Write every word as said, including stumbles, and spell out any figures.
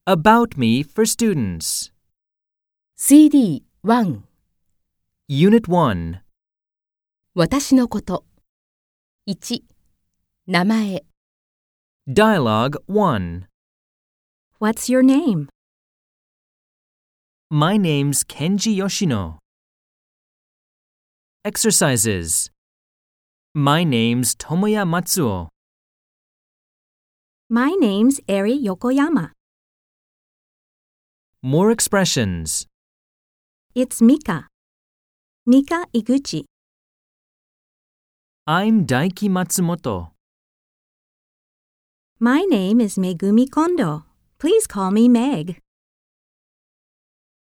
About Me for Students. シーディーワン Unit one. 私のこと。いち名前。 Dialogue one. What's your name? My name's Kenji Yoshino. Exercises. My name's Tomoya Matsuo. My name's Eri Yokoyama. More expressions. It's Mika. Mika Iguchi. I'm Daiki Matsumoto. My name is Megumi Kondo. Please call me Meg.